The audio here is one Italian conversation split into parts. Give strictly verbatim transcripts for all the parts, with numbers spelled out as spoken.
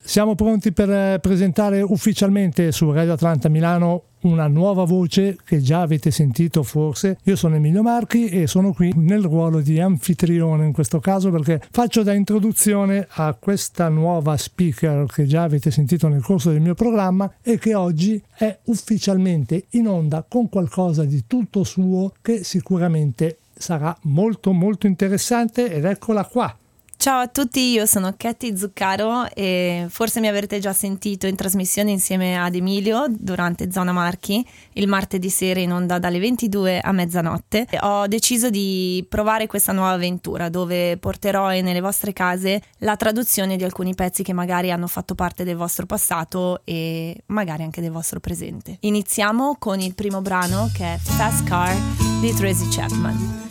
Siamo pronti per presentare ufficialmente su Radio Atlanta Milano una nuova voce che già avete sentito forse. Io sono Emilio Marchi e sono qui nel ruolo di anfitrione in questo caso, perché faccio da introduzione a questa nuova speaker che già avete sentito nel corso del mio programma e che oggi è ufficialmente in onda con qualcosa di tutto suo che sicuramente sarà molto molto interessante, ed eccola qua. Ciao a tutti, io sono Katy Zuccaro e forse mi avrete già sentito in trasmissione insieme ad Emilio durante Zona Marchi il martedì sera in onda dalle ventidue a mezzanotte. Ho deciso di provare questa nuova avventura dove porterò nelle vostre case la traduzione di alcuni pezzi che magari hanno fatto parte del vostro passato e magari anche del vostro presente. Iniziamo con il primo brano, che è Fast Car di Tracy Chapman.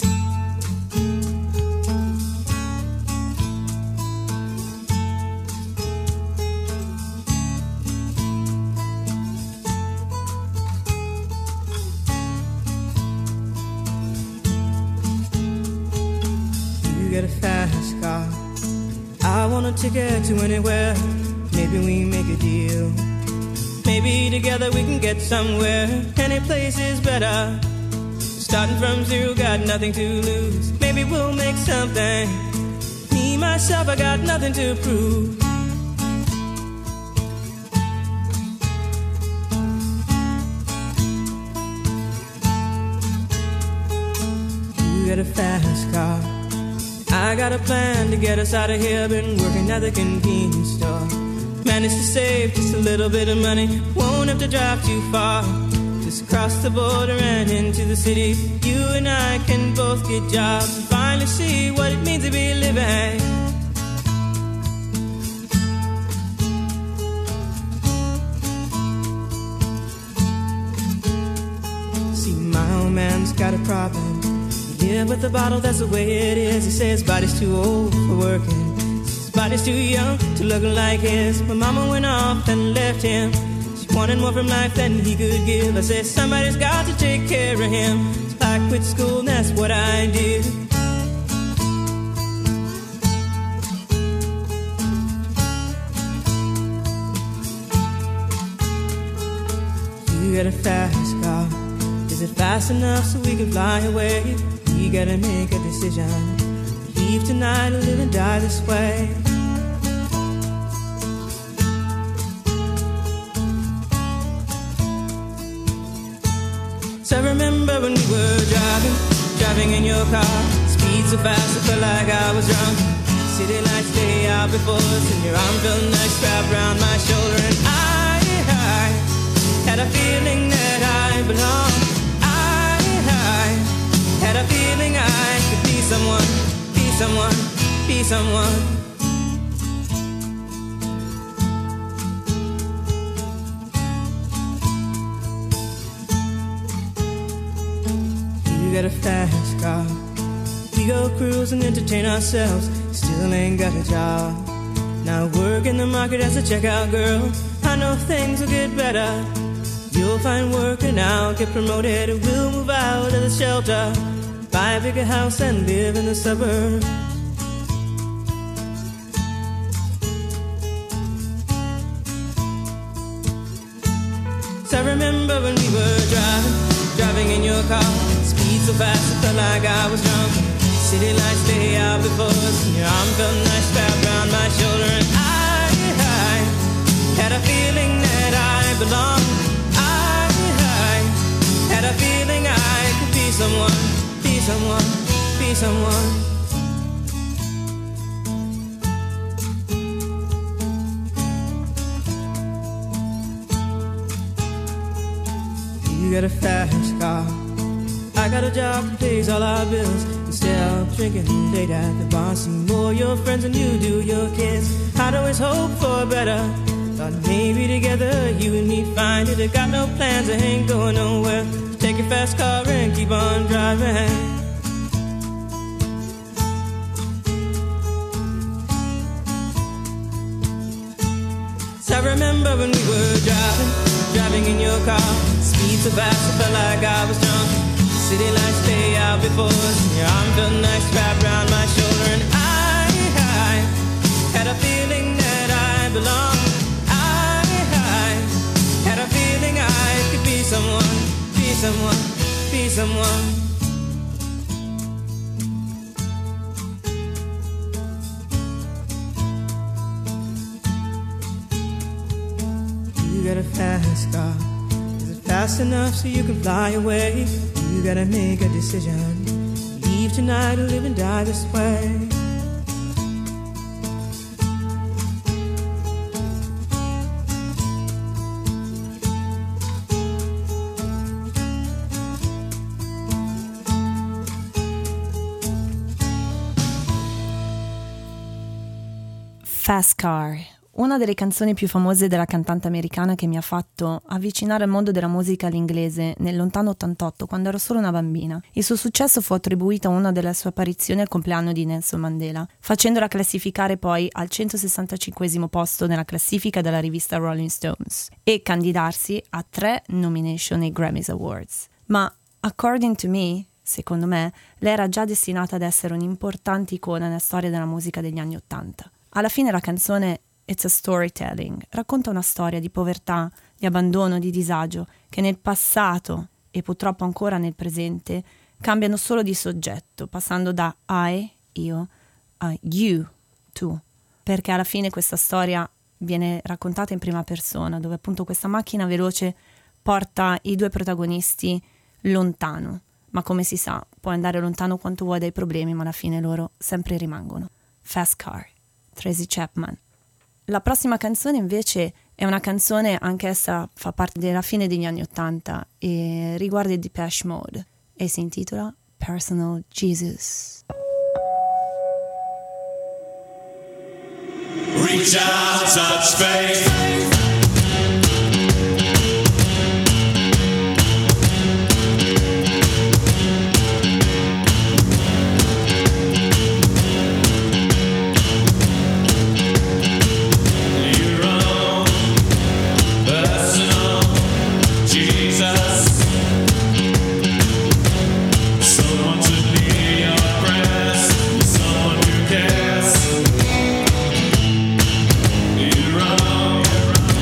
Get a fast car. I want a ticket to anywhere. Maybe we make a deal. Maybe together we can get somewhere. Any place is better. Starting from zero, got nothing to lose. Maybe we'll make something. Me, myself, I got nothing to prove. You get a fast car. I got a plan to get us out of here. Been working at the convenience store. Managed to save just a little bit of money. Won't have to drive too far. Just across the border and into the city. You and I can both get jobs and finally see what it means to be living. See, my old man's got a problem. Yeah, with the bottle, that's the way it is. He says his body's too old for working. His body's too young to look like his. My mama went off and left him. She wanted more from life than he could give. I said, somebody's got to take care of him. So I quit school and that's what I did. You got a fast car. Is it fast enough so we can fly away? We gotta make a decision. Leave tonight or live and die this way. So I remember when we were driving, driving in your car. Speed so fast I felt like I was drunk. City lights lay out before us and your arm felt nice wrapped around my shoulder. And I, I had a feeling that I belonged. Had a feeling I could be someone, be someone, be someone. You got a fast car. We go cruise and entertain ourselves. Still ain't got a job. Now work in the market as a checkout girl. I know things will get better. You'll find work and I'll get promoted. We'll move out of the shelter, buy a bigger house and live in the suburbs. So I remember when we were driving, driving in your car. Speed so fast I felt like I was drunk. City lights lay out before us and your arm felt nice wrapped around my shoulder. And I, I had a feeling that I belonged. Had a feeling I could be someone, be someone, be someone. You got a fast car. I got a job that pays all our bills. Instead of drinking late at the bar, see more your friends than you do your kids. I'd always hope for better. Thought maybe together you and me find it. I got no plans, I ain't going nowhere. Take your fast car and keep on driving. So I remember when we were driving, driving in your car. Speed so fast I felt like I was drunk. City lights lay out before us and your arm felt nice wrapped around my shoulder. And I, I had a feeling that I belonged. someone. You got a fast car. Is it fast enough so you can fly away? You gotta make a decision. Leave tonight or live and die this way. Fast Car, una delle canzoni più famose della cantante americana che mi ha fatto avvicinare al mondo della musica all'inglese nel lontano ottantotto, quando ero solo una bambina. Il suo successo fu attribuito a una delle sue apparizioni al compleanno di Nelson Mandela, facendola classificare poi al centosessantacinquesimo posto nella classifica della rivista Rolling Stones e candidarsi a tre nomination ai Grammys Awards. Ma, according to me, secondo me, lei era già destinata ad essere un'importante icona nella storia della musica degli anni Ottanta. Alla fine la canzone It's a Storytelling racconta una storia di povertà, di abbandono, di disagio che nel passato e purtroppo ancora nel presente cambiano solo di soggetto, passando da I, io, a you, tu, perché alla fine questa storia viene raccontata in prima persona, dove appunto questa macchina veloce porta i due protagonisti lontano, ma come si sa puoi andare lontano quanto vuoi dai problemi, ma alla fine loro sempre rimangono. Fast Car, Tracy Chapman. La prossima canzone invece è una canzone, anch'essa fa parte della fine degli anni Ottanta e riguarda il Depeche Mode e si intitola Personal Jesus. Reach out, touch faith. You're wrong.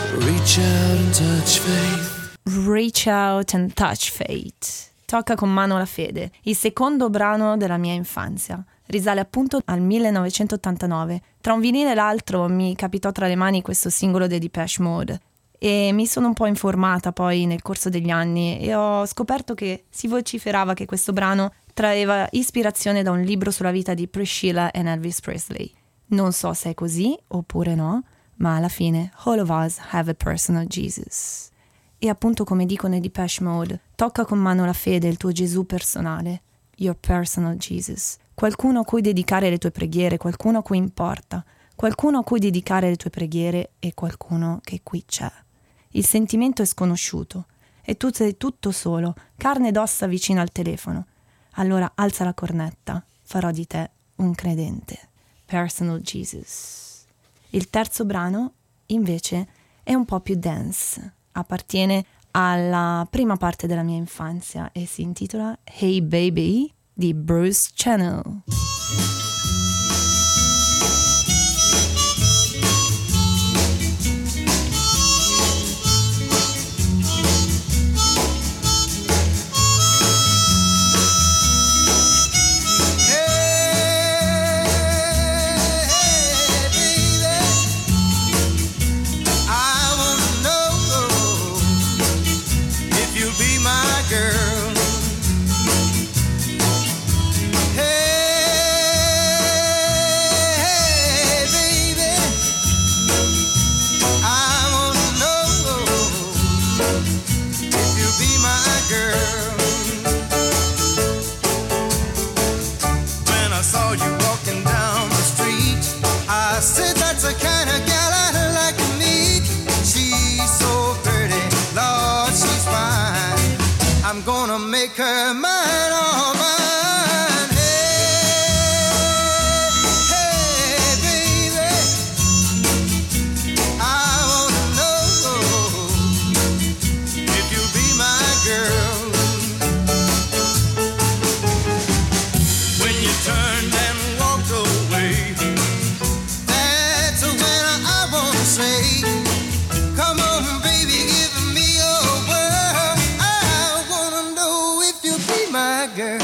Reach out and touch faith. Reach Out and Touch Fate. Tocca con mano la fede, il secondo brano della mia infanzia. Risale appunto al millenovecentottantanove. Tra un vinile e l'altro mi capitò tra le mani questo singolo dei Depeche Mode e mi sono un po' informata poi nel corso degli anni e ho scoperto che si vociferava che questo brano traeva ispirazione da un libro sulla vita di Priscilla e Elvis Presley. Non so se è così oppure no, ma alla fine all of us have a personal Jesus. E appunto come dicono i Depeche Mode, tocca con mano la fede il tuo Gesù personale, your personal Jesus. Qualcuno a cui dedicare le tue preghiere, qualcuno a cui importa, qualcuno a cui dedicare le tue preghiere e qualcuno che qui c'è. Il sentimento è sconosciuto e tu sei tutto solo, carne ed ossa vicino al telefono. Allora alza la cornetta, farò di te un credente. Personal Jesus. Il terzo brano, invece, è un po' più dance. Appartiene alla prima parte della mia infanzia e si intitola Hey Baby di Bruce Channel. Make her mine, all mine. Hey, hey, baby, I wanna know if you'll be my girl. When you turned and walked away, that's when I wanna say, come on, baby, give me your word. I wanna know if you'll be my girl.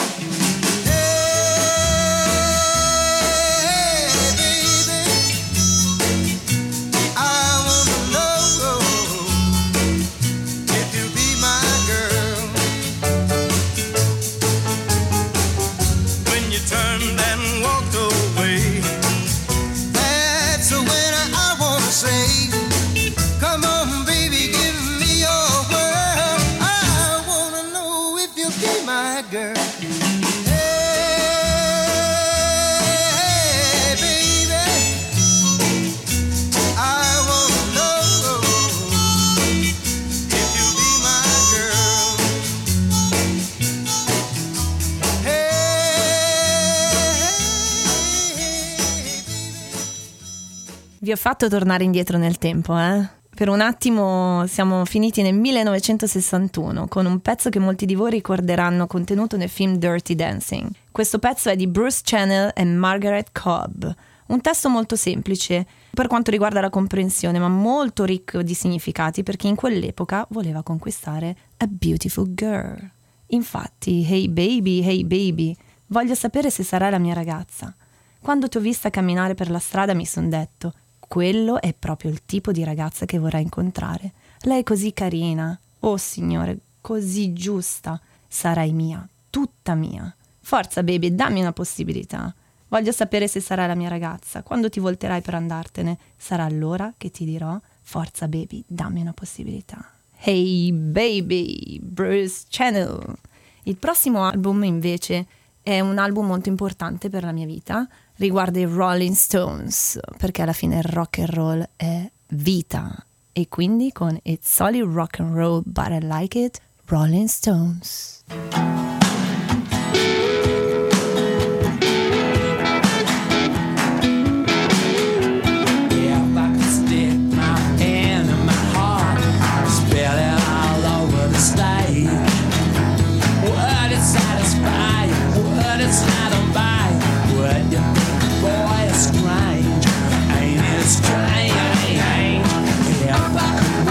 Vi ho fatto tornare indietro nel tempo, eh? Per un attimo siamo finiti nel millenovecentosessantuno con un pezzo che molti di voi ricorderanno contenuto nel film Dirty Dancing. Questo pezzo è di Bruce Channel e Margaret Cobb. Un testo molto semplice per quanto riguarda la comprensione, ma molto ricco di significati perché in quell'epoca voleva conquistare a beautiful girl. Infatti, hey baby, hey baby, voglio sapere se sarai la mia ragazza. Quando ti ho vista camminare per la strada mi son detto, quello è proprio il tipo di ragazza che vorrei incontrare. Lei è così carina, oh signore, così giusta. Sarai mia, tutta mia. Forza baby, dammi una possibilità. Voglio sapere se sarai la mia ragazza. Quando ti volterai per andartene, sarà allora che ti dirò, forza baby, dammi una possibilità. Hey baby, Bruce Channel. Il prossimo album invece è un album molto importante per la mia vita. Riguarda i Rolling Stones, perché alla fine il rock and roll è vita. E quindi con It's Solid Rock and Roll But I Like It, Rolling Stones. Strange, ain't it strange? Yeah,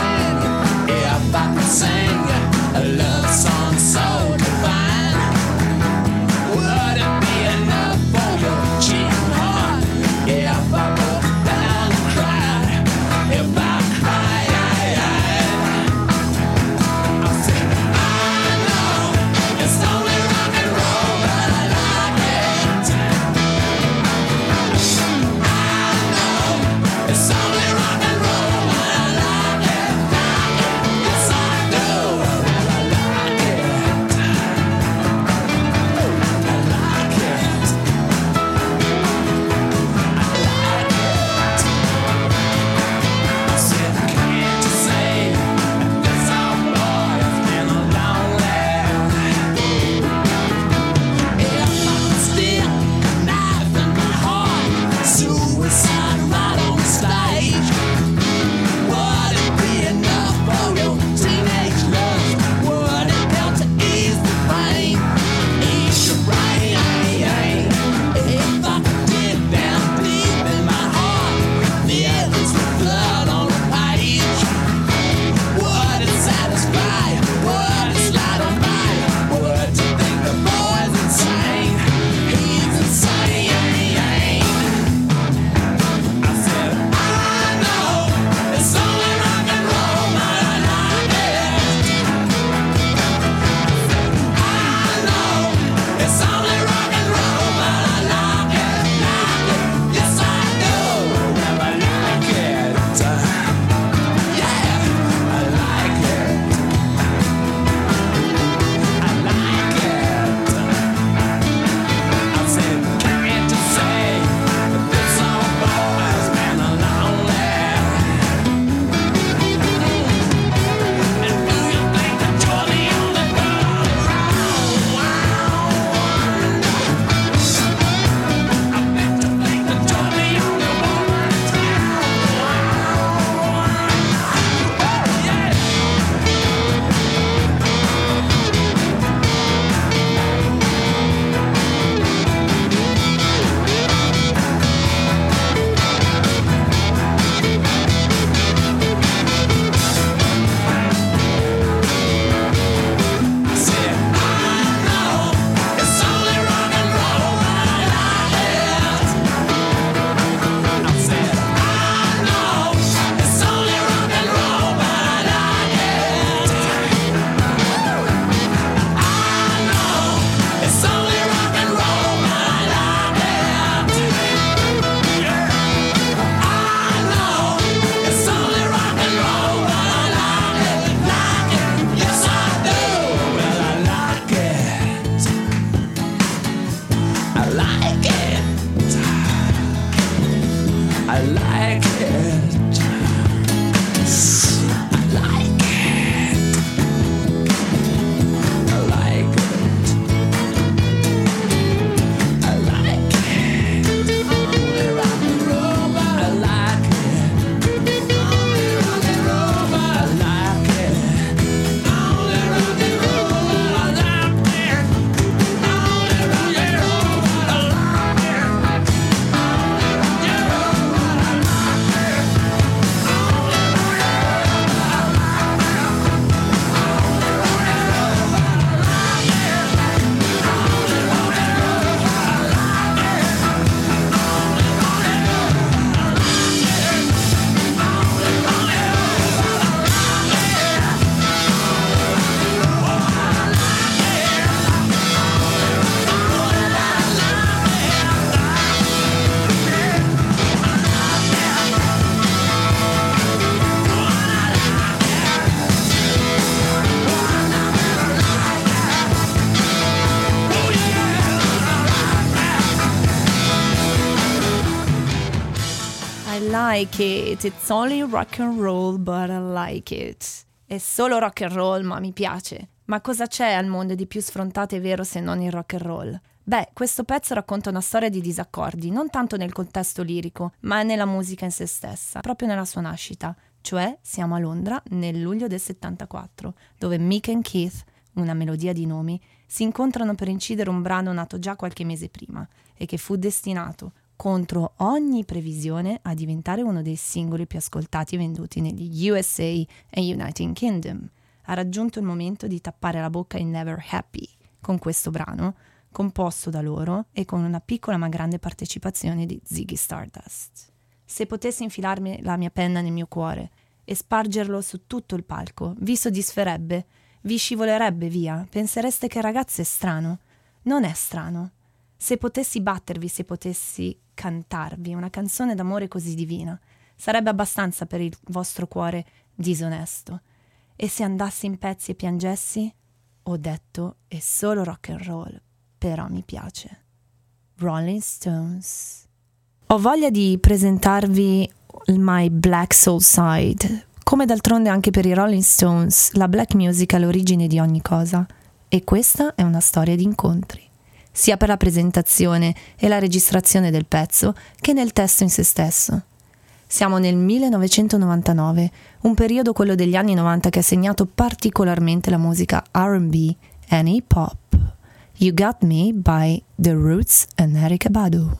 like it, it's only rock and roll, but I like it. È solo rock and roll, ma mi piace. Ma cosa c'è al mondo di più sfrontato e vero se non il rock and roll? Beh, questo pezzo racconta una storia di disaccordi, non tanto nel contesto lirico, ma nella musica in se stessa, proprio nella sua nascita. Cioè, siamo a Londra nel luglio del settantaquattro, dove Mick e Keith, una melodia di nomi, si incontrano per incidere un brano nato già qualche mese prima e che fu destinato, contro ogni previsione, a diventare uno dei singoli più ascoltati e venduti negli U S A e United Kingdom. Ha raggiunto il momento di tappare la bocca in Never Happy con questo brano, composto da loro e con una piccola ma grande partecipazione di Ziggy Stardust. Se potessi infilarmi la mia penna nel mio cuore e spargerlo su tutto il palco, vi soddisferebbe? Vi scivolerebbe via? Pensereste che il ragazzo è strano? Non è strano. Se potessi battervi, se potessi cantarvi una canzone d'amore così divina, sarebbe abbastanza per il vostro cuore disonesto. E se andassi in pezzi e piangessi? Ho detto, è solo rock and roll, però mi piace. Rolling Stones. Ho voglia di presentarvi il My Black Soul Side. Come d'altronde anche per i Rolling Stones, la black music è l'origine di ogni cosa. E questa è una storia di incontri, sia per la presentazione e la registrazione del pezzo che nel testo in se stesso. Siamo nel millenovecentonovantanove, un periodo, quello degli anni novanta, che ha segnato particolarmente la musica R and B e hip hop. You Got Me by The Roots and Erykah Badu.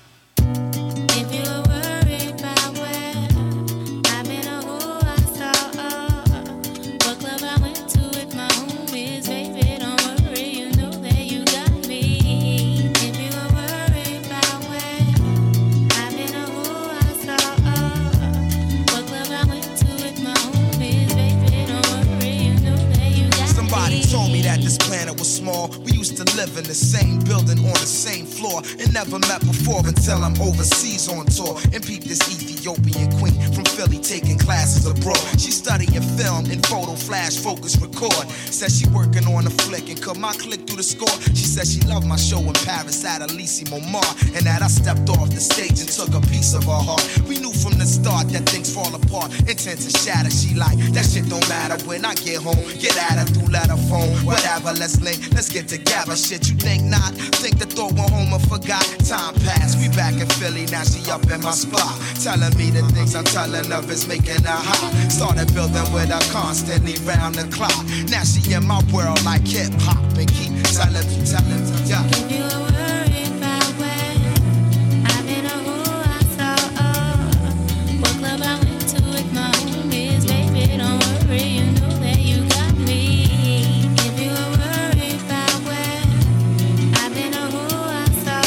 We used to live in the same building on the same floor and never met before until I'm overseas on tour and peep this Ethiopian queen from Philly taking classes abroad. She studying film and photo flash focus record. Says she working on a flick and cut my click through the score. She said she loved my show in Paris at Elysée Montmartre and that I stepped off the stage and took a piece of her heart. We knew from the start that things fall apart, intent to shatter. She like, that shit don't matter when I get home. Get at her through letter phone, whatever, let's link, let's get together. Shit, you think not? Think the thought went home and forgot. Time passed, we back in Philly, now she up in my spot, telling me the things I'm telling her is making her hot. Started building with her constantly round the clock. Now she in my world like hip hop and keep telling me, telling me, yeah. If you were worried about where I've been or who I saw, oh, what club I went to with my homies, baby, don't worry, you know that you got me. If you were worried about where I've been or who I saw,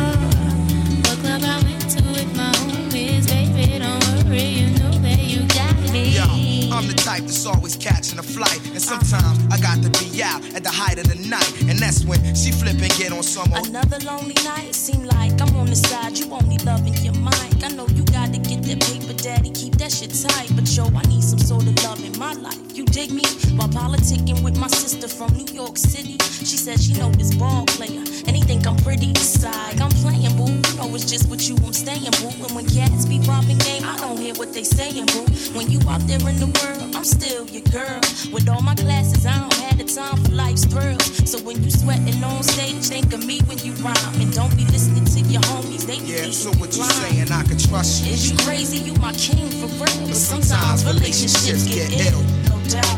oh, what club I went to with my homies, baby, don't worry, you know that you got me. Yo, I'm the type that's always catching a flight, and sometimes I got to be out at the height of the night, and that's when she flip and get on some more. Another lonely night, seem like I'm on the side, you only loving your mic. I know you gotta get that paper, daddy, keep that shit tight, but yo, I need some sort of love in my life. You dig me? While politicking with my sister from New York City, she said she know this ball player, and he think I'm pretty beside. I'm playing, boo, you know it's just with you I'm staying, boo. And when cats be popping game, I don't hear what they saying, boo. When you out there in the world, I'm still your girl. With all my classes, I don't have the time for life's thrills. So when you sweating on stage, think of me when you rhyme, and don't be listening to your homies. They yeah, so what you saying? I can trust you. Is you crazy? You my king for real. But sometimes relationships get ill, no doubt.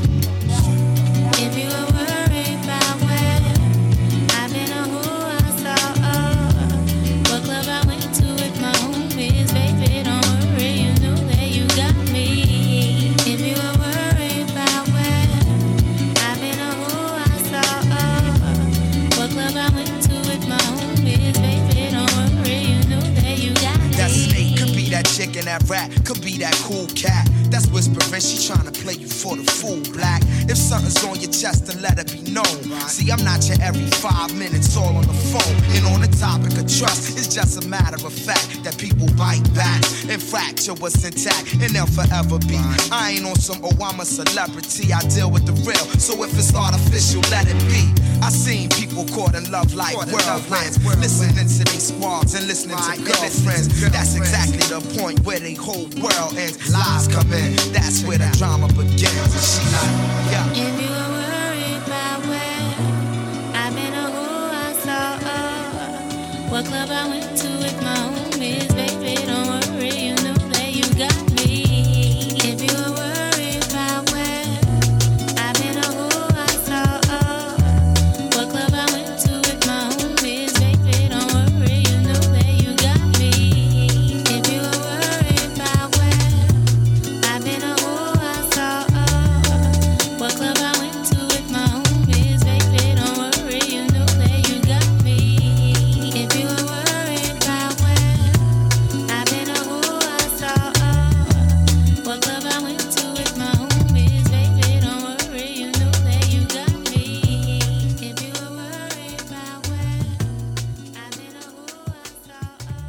If you were worried about where I've been or who I saw, oh, what club I went to with my homies, baby, don't worry, you know that you got me. If you were worried about where I've been or who I saw, oh, what club I went to with my homies, baby, don't worry, you know that you got me. That snake could be that chick in that rat, could be that cool cat. That's whispering, she tryna play you for the fool, black. If something's on your chest, then let it be known. See, I'm not your every five minutes all on the phone. And on the topic of trust, it's just a matter of fact that people bite back and fracture what's intact, and they'll forever be. I ain't on some, oh, I'm a celebrity, I deal with the real. So if it's artificial, let it be. I seen people caught in love like whirlwinds, listening to these squads and listening to girlfriends. That's exactly the point where the whole world ends. Lies come in, that's where the drama begins. And she like, yeah. If you were worried about where I've been or who I saw, or what club I went to with my homies, baby, don't worry, you know that you got me. If you were worried about where I've been or who I saw, or what club I went to with my homies, baby, don't worry, you know that you got me. If you were worried about where I've been or who I saw, or what club I went to with my homies, baby, don't worry, you know that you got me. If you were worried about where I've been or who I saw, or what club I went to with my homies, baby, don't worry, you know that you got me. If you were worried about where I've been or who I saw,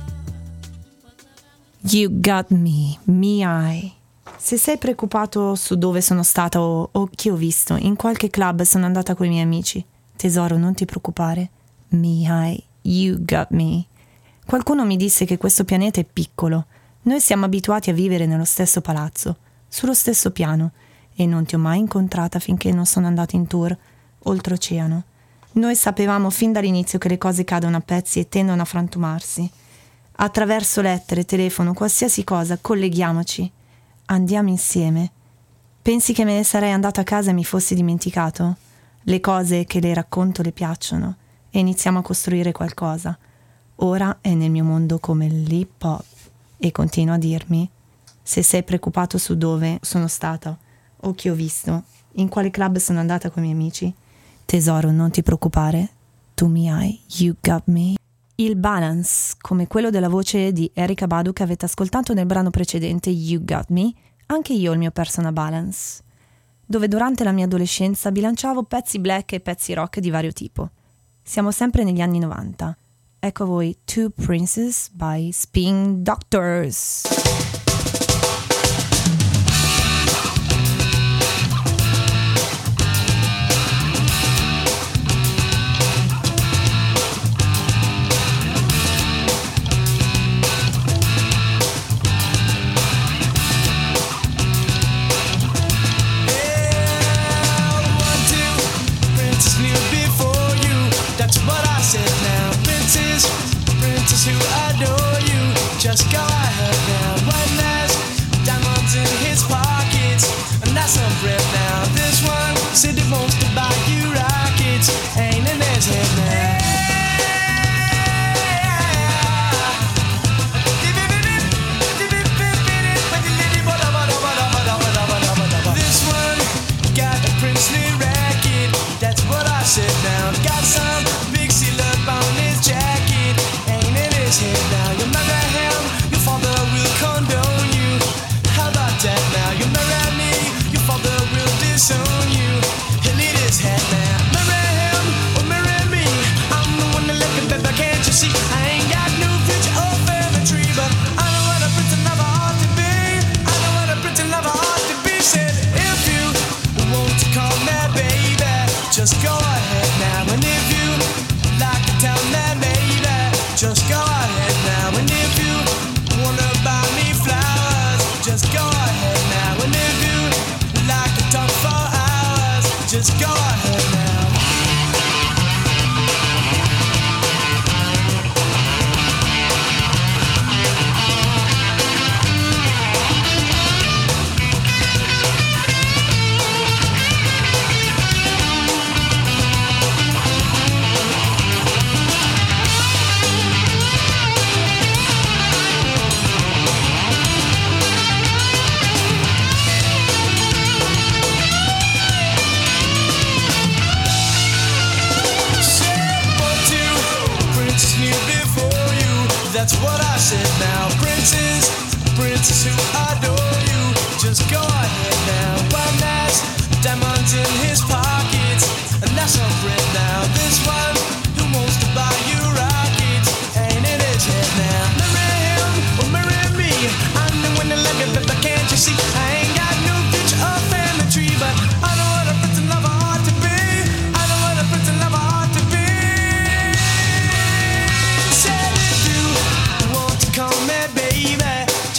or what club I went. You got me, mi hai. Se sei preoccupato su dove sono stata o, o chi ho visto, in qualche club sono andata con i miei amici. Tesoro, non ti preoccupare. Mi hai, you got me. Qualcuno mi disse che questo pianeta è piccolo. Noi siamo abituati a vivere nello stesso palazzo, sullo stesso piano, e non ti ho mai incontrata finché non sono andata in tour oltreoceano. Noi sapevamo fin dall'inizio che le cose cadono a pezzi e tendono a frantumarsi. Attraverso lettere, telefono, qualsiasi cosa, colleghiamoci. Andiamo insieme. Pensi che me ne sarei andata a casa e mi fossi dimenticato? Le cose che le racconto le piacciono e iniziamo a costruire qualcosa. Ora è nel mio mondo come l'hip hop e continua a dirmi: se sei preoccupato su dove sono stata o chi ho visto, in quale club sono andata con i miei amici, tesoro, non ti preoccupare, tu mi hai, you got me. Il balance, come quello della voce di Erykah Badu che avete ascoltato nel brano precedente You Got Me, anche io ho il mio personal balance, dove durante la mia adolescenza bilanciavo pezzi black e pezzi rock di vario tipo. Siamo sempre negli anni novanta. Ecco a voi Two Princes by Spin Doctors. Who adore you, just go ahead now. One last diamonds in his pockets, and that's some bread now. This one said he wants to buy you rockets, ain't in his head now. This one got a princely racket, that's what I said now. Got some big seal up on his jacket, his head now. You marry him, your father will condone you. How about that now? You marry me, your father will disown you. He'll eat his head now. Marry him or marry me, I'm the one that let the baby, can't you see? I ain't got no future or family tree, but I know what a pretty lover ought to be. I know what a pretty lover ought to be. Said if you want to call me baby, just go ahead now. And if you like to tell me baby, just go ahead now. And if you wanna buy me flowers, just go ahead now. And if you like to talk for hours, just go ahead now. That's what I said now. Princes, princes who adore you, just go ahead now. One last diamonds in his pockets, and that's some bread now. This one who wants to buy you rockets, ain't in his head now. Marry him or marry me, I'm the one that love you, but can't you see? I ain't got no future or family tree, but I know what a pretty lover ought to be. I know what a pretty lover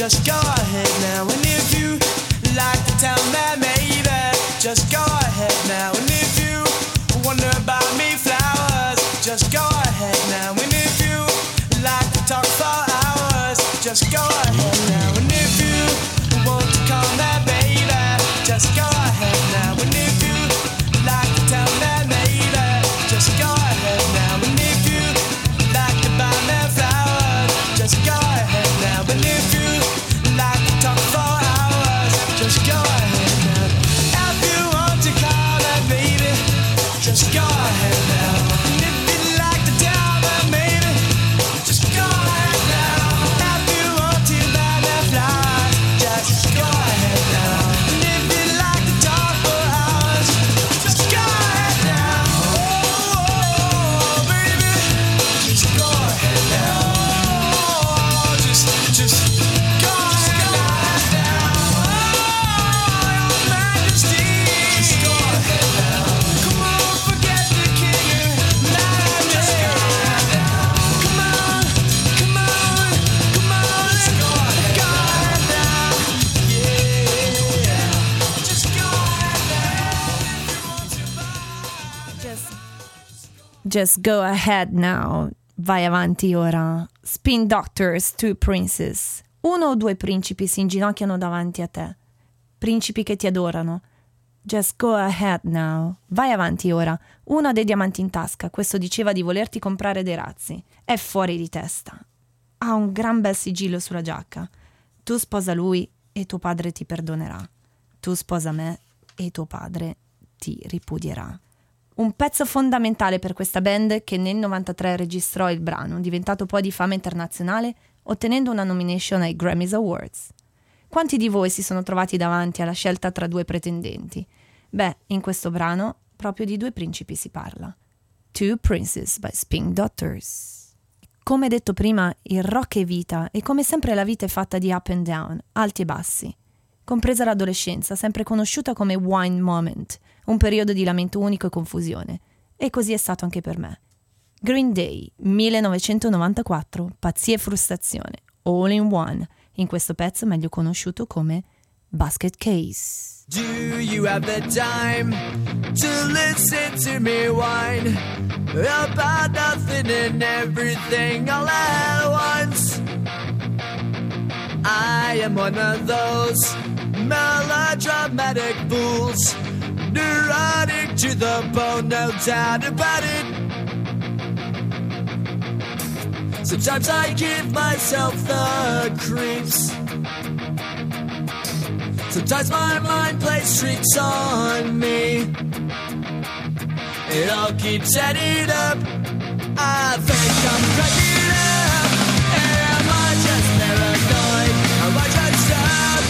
just go ahead now. And if you like to tell me maybe, just go ahead now. And if you wonder about me flowers, just go ahead now. And if you like to talk for hours, just go ahead now. And if you want to call me baby, just go ahead now. And if you like to tell me maybe, just go ahead now. And if you like to buy me flowers, just go ahead now. And if you like to talk for hours, just go ahead now. If you want to call me baby, just go ahead now. And if you like to tell me maybe, just go ahead now. If you want to buy me flowers, just go ahead now. And if you like to talk for hours, just go ahead now. Oh, baby, just go ahead now. Oh, just, just go ahead now. Oh, your Majesty, just go ahead now. Come on, forget the king and majesty. Come on, come on, come on, let's go ahead now. Yeah, just go ahead now. Just, just go ahead now. Vai avanti ora. Spin Doctors, Two Princes. Uno o due principi si inginocchiano davanti a te. Principi che ti adorano. Just go ahead now. Vai avanti ora. Uno ha dei diamanti in tasca. Questo diceva di volerti comprare dei razzi. È fuori di testa. Ha un gran bel sigillo sulla giacca. Tu sposa lui e tuo padre ti perdonerà. Tu sposa me e tuo padre ti ripudierà. Un pezzo fondamentale per questa band che nel novantatré registrò il brano, diventato poi di fama internazionale, ottenendo una nomination ai Grammys Awards. Quanti di voi si sono trovati davanti alla scelta tra due pretendenti? Beh, in questo brano proprio di due principi si parla. Two Princes by Spin Doctors. Come detto prima, il rock è vita e come sempre la vita è fatta di up and down, alti e bassi. Compresa l'adolescenza, sempre conosciuta come wine moment, un periodo di lamento unico e confusione. E così è stato anche per me. Green Day, millenovecentonovantaquattro, pazzia e frustrazione, all in one, in questo pezzo meglio conosciuto come Basket Case. Do you have the time to listen to me whine about nothing and everything all at once? I am one of those melodramatic fools, neurotic to the bone, no doubt about it. Sometimes I give myself the creeps. Sometimes my mind plays tricks on me. It all keeps adding up. I think I'm cracking up. Am I just paranoid? Am I just up?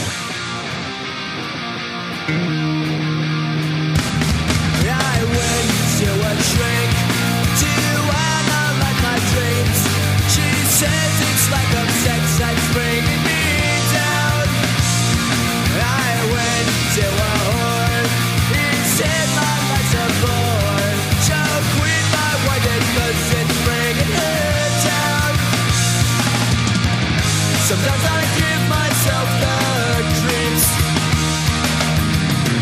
I went to a shrink to analyze my dreams. She says it's like a sex that's bringing me down. I went to a whore. He said my life's a bore. So quit my white cause it's bringing her down. Sometimes I give myself the creeps.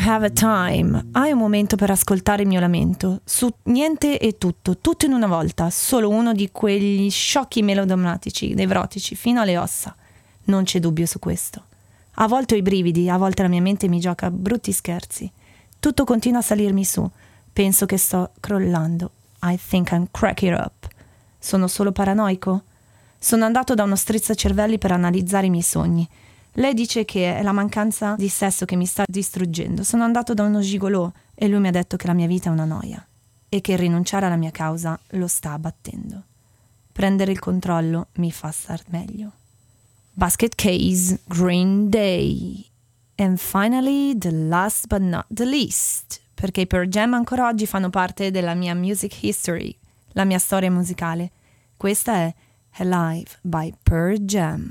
have a time. Hai un momento per ascoltare il mio lamento. Su niente e tutto, tutto in una volta. Solo uno di quegli sciocchi melodrammatici, nevrotici, fino alle ossa. Non c'è dubbio su questo. A volte ho i brividi, a volte la mia mente mi gioca brutti scherzi. Tutto continua a salirmi su. Penso che sto crollando. I think I'm cracking up. Sono solo paranoico? Sono andato da uno strizzacervelli per analizzare i miei sogni. Lei dice che è la mancanza di sesso che mi sta distruggendo. Sono andato da uno gigolò e lui mi ha detto che la mia vita è una noia e che rinunciare alla mia causa lo sta abbattendo. Prendere il controllo mi fa star meglio. Basket Case, Green Day. And finally, the last but not the least, perché i Pearl Jam ancora oggi fanno parte della mia music history, la mia storia musicale. Questa è Alive by Pearl Jam.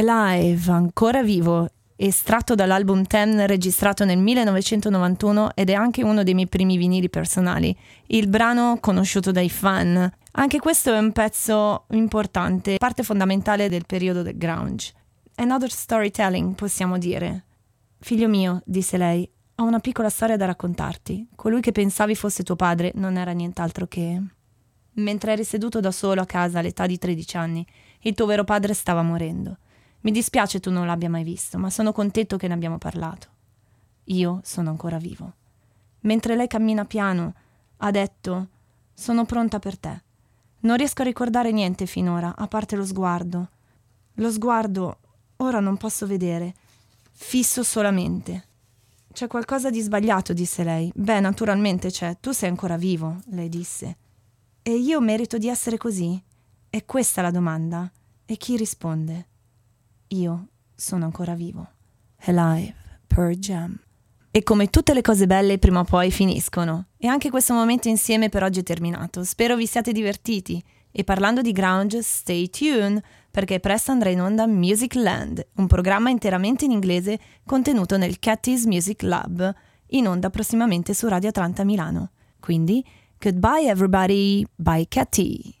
Alive, ancora vivo, estratto dall'album Ten registrato nel millenovecentonovantuno ed è anche uno dei miei primi vinili personali, il brano conosciuto dai fan. Anche questo è un pezzo importante, parte fondamentale del periodo del grunge. Another storytelling, possiamo dire. Figlio mio, disse lei, ho una piccola storia da raccontarti. Colui che pensavi fosse tuo padre non era nient'altro che... Mentre eri seduto da solo a casa all'età di tredici anni, il tuo vero padre stava morendo. Mi dispiace tu non l'abbia mai visto, ma sono contento che ne abbiamo parlato. Io sono ancora vivo. Mentre lei cammina piano, ha detto, sono pronta per te. Non riesco a ricordare niente finora, a parte lo sguardo. Lo sguardo, ora non posso vedere, fisso solamente. C'è qualcosa di sbagliato, disse lei. Beh, naturalmente c'è, tu sei ancora vivo, lei disse. E io merito di essere così? È questa la domanda. E chi risponde? Io sono ancora vivo. Alive, Pearl Jam. E come tutte le cose belle prima o poi finiscono. E anche questo momento insieme per oggi è terminato. Spero vi siate divertiti. E parlando di grunge, stay tuned, perché presto andrà in onda Music Land, un programma interamente in inglese contenuto nel Cathy's Music Lab, in onda prossimamente su Radio Atlanta Milano. Quindi, goodbye everybody, bye Cathy!